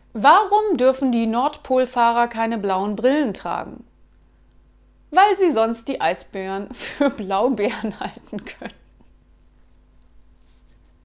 Warum dürfen die Nordpolfahrer keine blauen Brillen tragen? Weil sie sonst die Eisbären für Blaubeeren halten können.